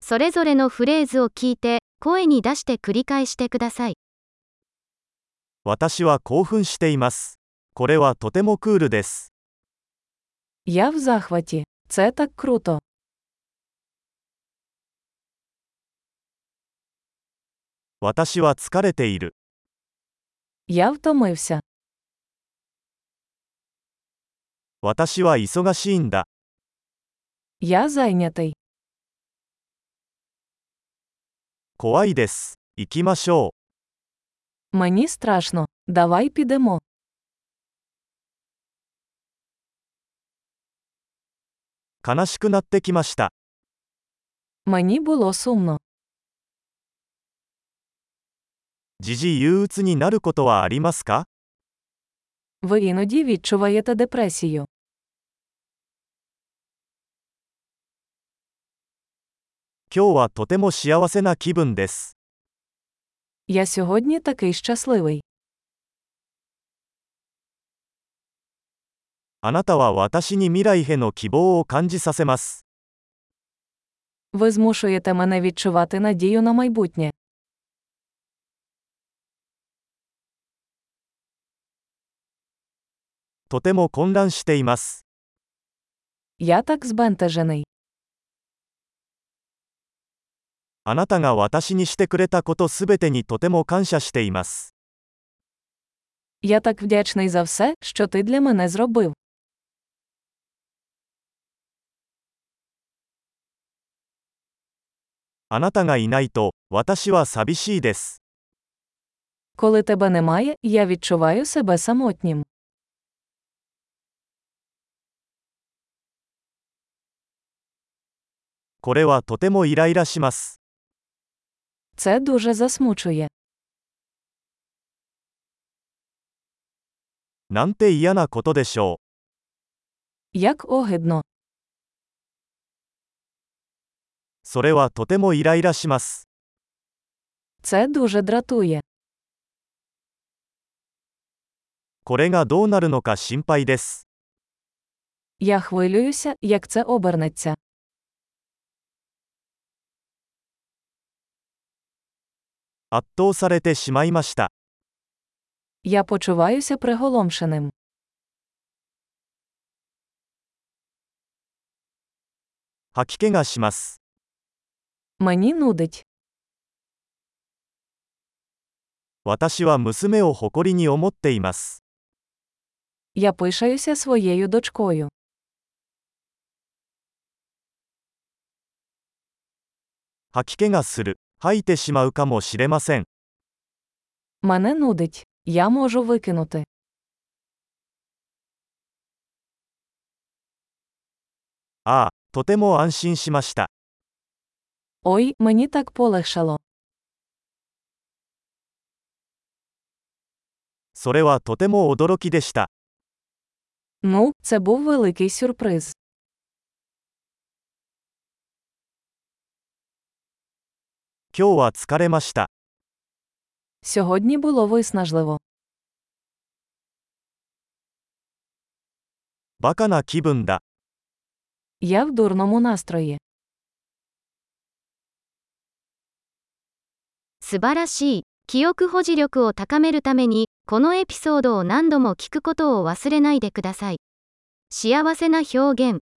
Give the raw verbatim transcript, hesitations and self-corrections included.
それぞれのフレーズを聞いて、声に出して繰り返してください。 私は興奮しています。これはとてもクールです。 Я в захваті. Це так круто. 私は疲れている。 Я втомився. 私は忙しいんだ。 Я зайнятий. 怖いです。行きましょ Мені страшно. Давай підемо. う。悲しくなってきました。 Мені було сумно. 時々憂鬱になることはありますか？ Ви іноді відчуваєте депресію. 今日はとても幸せな気分です。 Я сьогодні такий щасливий. あなたは私に未来への希望を感じさせます。 Ви змушуєте мене відчувати надію на майбутнє. とても混乱しています。 Я так збентежений. あなたが私にしてくれたことすべてにとても感謝しています。 Я так вдячний за все, що ти для мене зробив. あなたがいないと、私は寂しいです。 Коли тебе немає, я відчуваю себе самотнім. これはとてもイライラします。 Це дуже засмучує. なんて嫌なことでしょ Як огидно. う。それはとてもイライラします。 Це дуже дратує. これがどうなるのか心配です。 Я хвилююся, як це обернеться. 圧倒されてしまいました。 Я почуваюся приголомшеним. 吐き気がします。 Мені нудить. 私は娘を誇りに思っています。 Я пишаюся своєю дочкою. 吐き気がする。吐いてしまうかもしれません。 Мене нудить. Я можу викинути. ああ、とても安心しました。 Ой, мені так полегшало. それはとても驚きでした。 Ну, це був великий сюрприз. 今日は疲れました。 Сьогодні було виснажливо. バカな気分だ。 Я в дурному настрої. 素晴らしい。記憶保持力を高めるために、このエピソードを何度も聞くことを忘れないでください。幸せな表現。